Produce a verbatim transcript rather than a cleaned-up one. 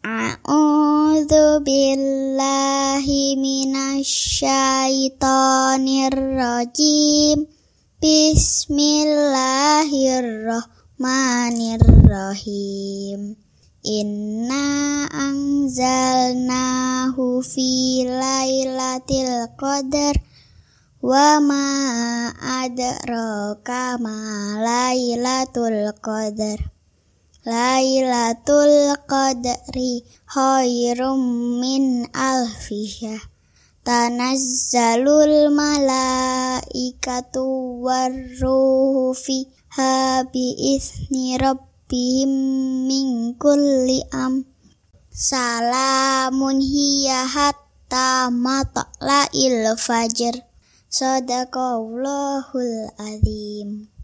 A'udzu billahi minasyaitonir rajim. Bismillahirrahmanirrahim. Inna anzalnahu fi lailatul qadar wa ma adraka ma lailatul qadar. Lailatul qadri khairum min alfi syahr. Tanazzalul malaikatu warruhu fiha bi'izni rabbihim min kulli am. Salamun hiya hatta matla'il fajr. Shadaqallahul azim.